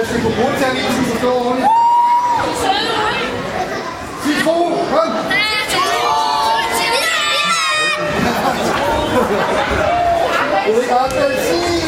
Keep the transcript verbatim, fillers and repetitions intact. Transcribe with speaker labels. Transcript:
Speaker 1: Hvis vi kunne bruge terminen, så står hun. Citron, kom! Jeg ved ikke,